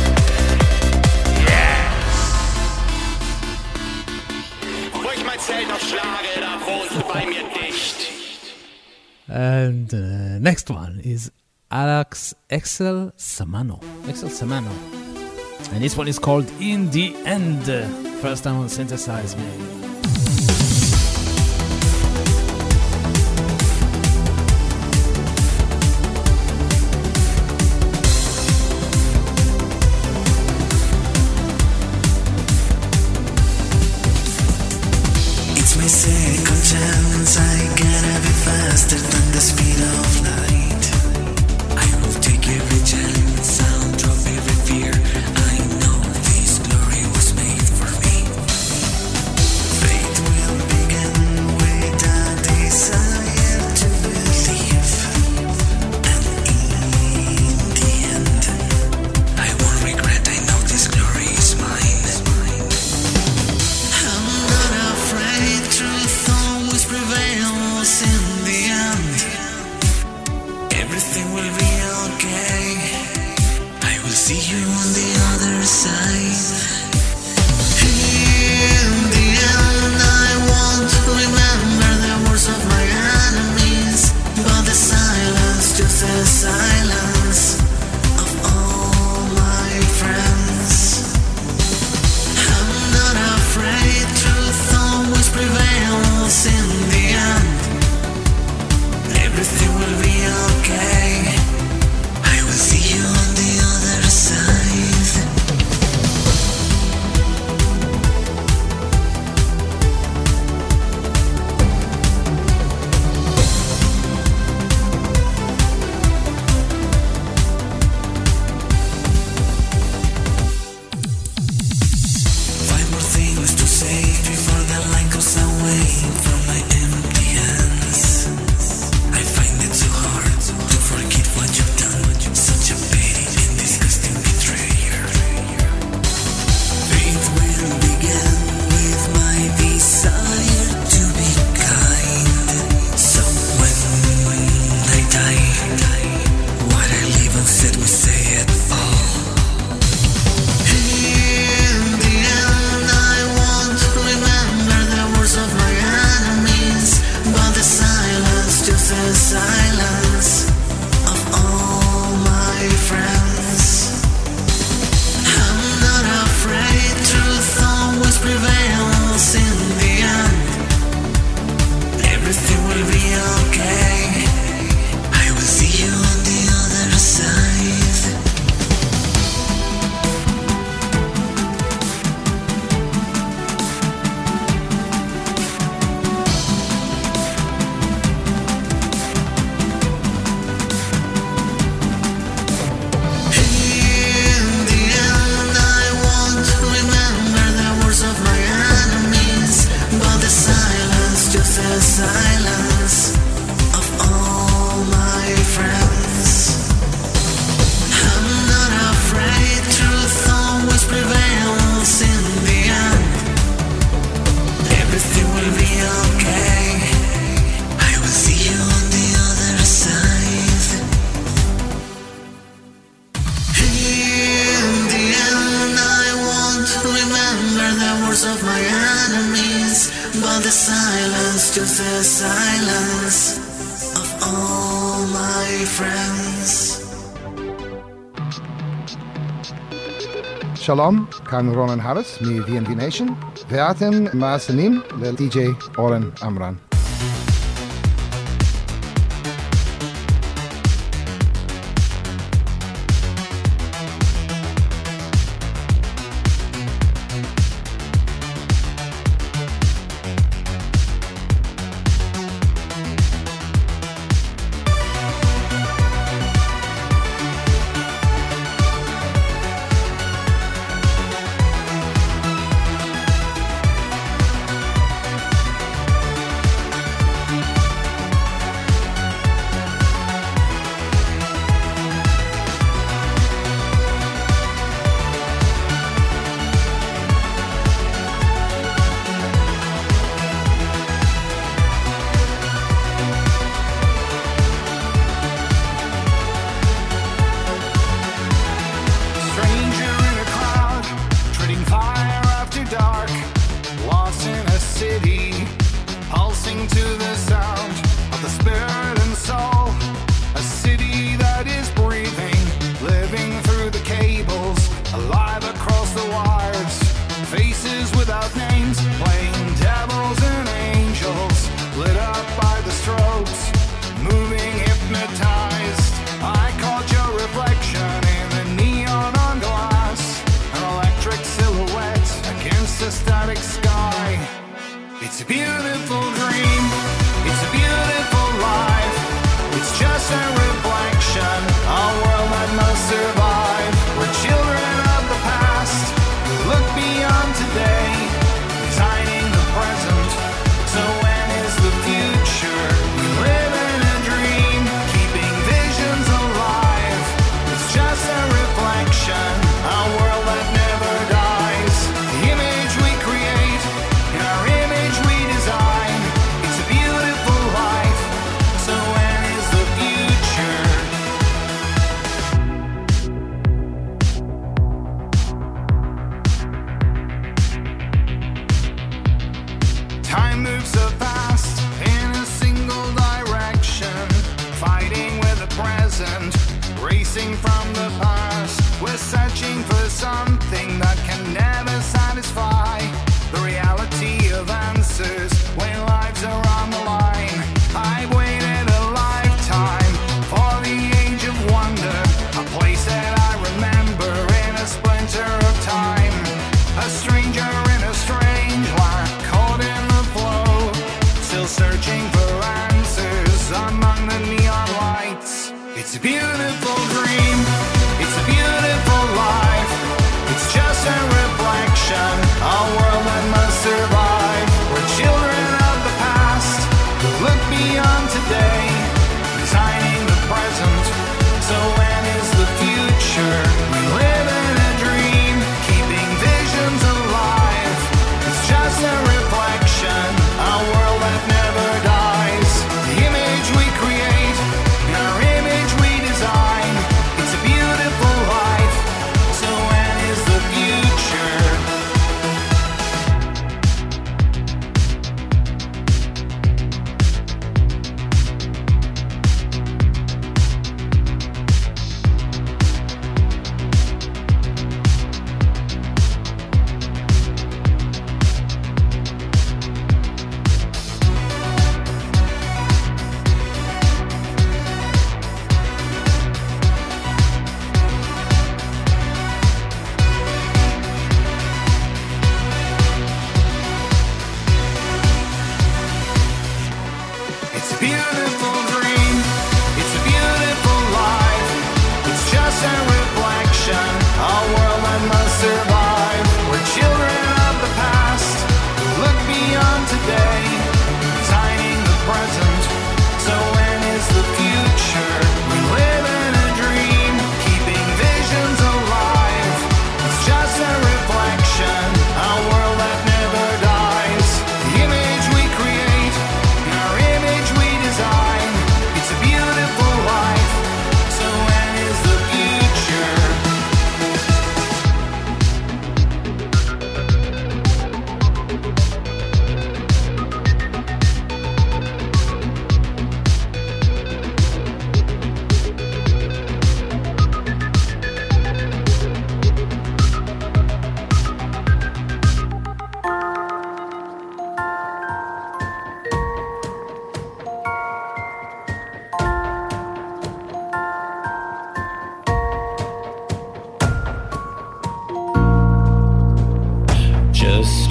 Speaker 18: Wo ich mein Zelt aufschlage, da wohnst du bei mir dicht.
Speaker 1: And next one is Axel Samano. And this one is called In the End. First time on Synthesize Me.
Speaker 9: It's my second chance, I gotta be faster than the speed of light. I will take every chance, I'll drop every fear. I know this glory was made for me. Fate will begin with a desire to believe. And in the end, I won't regret, I know this glory is mine. I'm not afraid, truth always prevails in the end. Everything will be okay. I will see you on the other side. In the end, I won't remember the words of my enemies, but the silence, just the silence of all my friends. I'm not afraid, truth always prevails in the end. Everything will be okay. I will see you on the other side. Five more things to say before the line goes away from my empty hands. I find it so hard to forget what you've done. Such a petty and disgusting betrayer. Fate will begin with my desire to be kind. So when I die, what I leave unsaid we say it all. In the end, I won't remember the words of my enemies, but the silence, just the silence of all my friends. I'm not afraid, truth always prevails in the end. Everything will be okay. I will see you on the other side. In the end, I won't remember the words of my enemies, but the silence, just the silence of all my friends. I'm not afraid, truth always prevails in the end. Everything will be okay. I will see you on the other side. In the end, I won't remember the words of my enemies, but the silence, just the silence of all my friends.
Speaker 5: שלום, כאן רונן הארץ מ-VNV Nation, ואתם מאזינים ל-DJ אורן עמרם.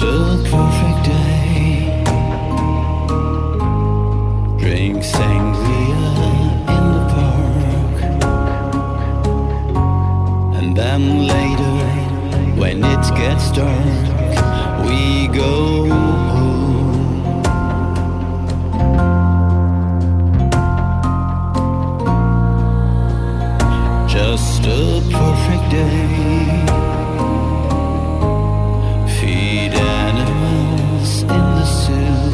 Speaker 9: a perfect day. Drink sangria in the park. And then later, when it gets dark, we go home. Just a perfect day. Feed animals in the zoo.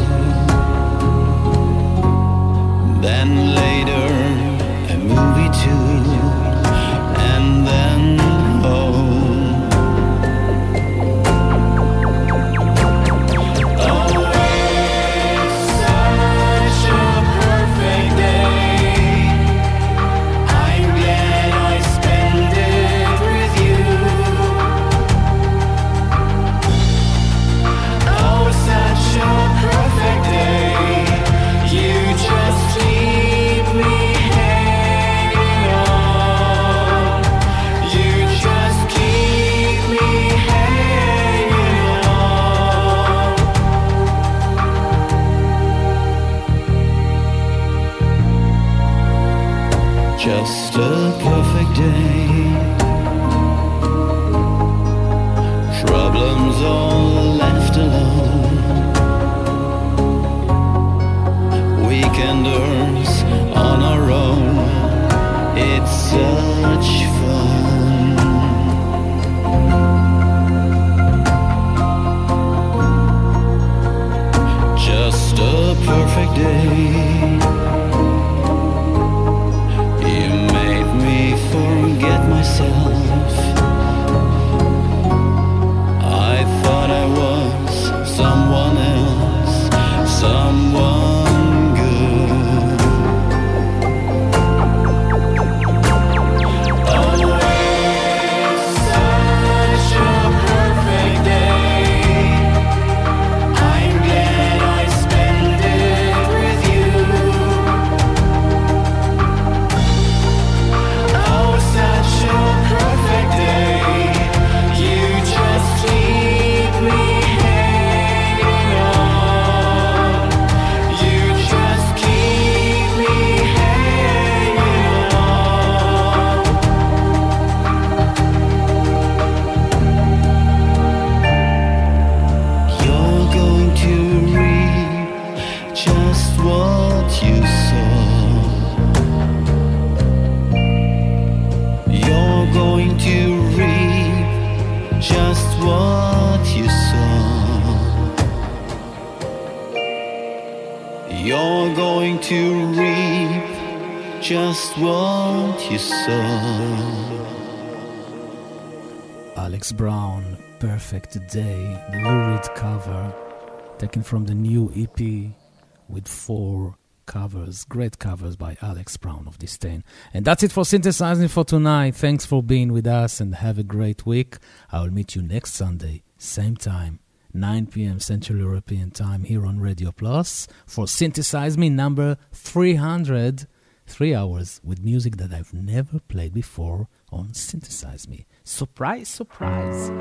Speaker 9: Then later, a movie too. And then home. Just a perfect day. Problems all left alone. Weekenders on our own. It's such fun. Just a perfect day. Forget myself. I thought I was someone else, someone good. Always such a perfect day. I'm glad I spent it with you. Such a perfect day. You just keep me hanging on. You just keep me hanging on. You're going to reap just what you sow. You're going to reap just what you sow. You're going to reap just what you sow.
Speaker 1: Alex Brown, Perfect Day, the Lou Reed cover, taken from the new EP with 4 covers, great covers by Alex Brown of Disdain. And that's it for Synthesizing for tonight. Thanks for being with us and have a great week. I will meet you next Sunday, same time, 9 p.m. Central European Time here on Radio Plus for Synthesize Me number 300. 3 hours with music that I've never played before on Synthesize Me. Surprise, surprise.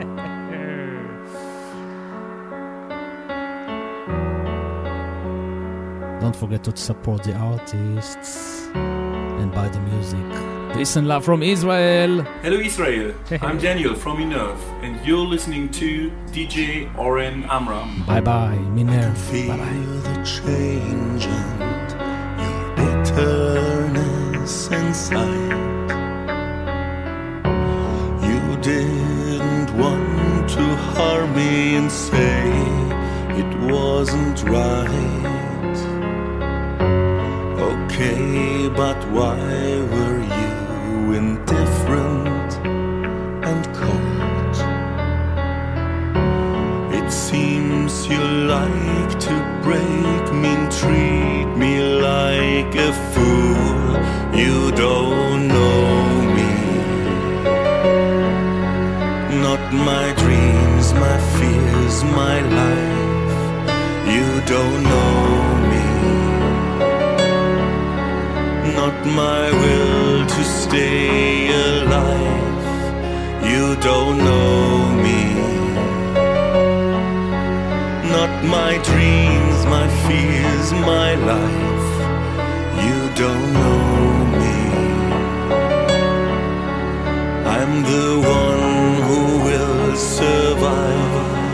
Speaker 1: Don't forget to support the artists and buy the music. Peace and love from Israel.
Speaker 6: Hello Israel, I'm Daniel from Minerve and you're listening to DJ Oren Amram.
Speaker 1: Bye bye, Minerve.
Speaker 8: Feel
Speaker 1: bye bye.
Speaker 8: The change and your bitterness inside. You didn't want to harm me and say it wasn't right. Okay, but why were you indifferent and cold? It seems you like to break me and treat me like a fool. You don't know me. Not my dreams, my fears, my life. You don't know me. Not my will to stay alive. You don't know me. my dreams, my fears, my life. You don't know me. I'm the one who will survive.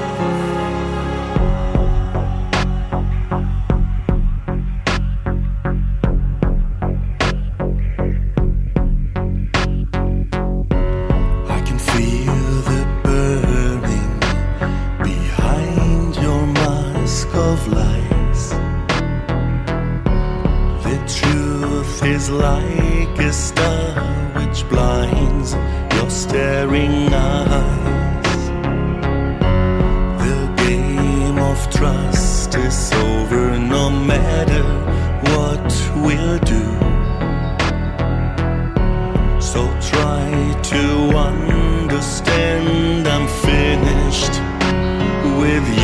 Speaker 8: Like a star which blinds your staring eyes. The game of trust is over no matter what we'll do. So try to understand I'm finished with you.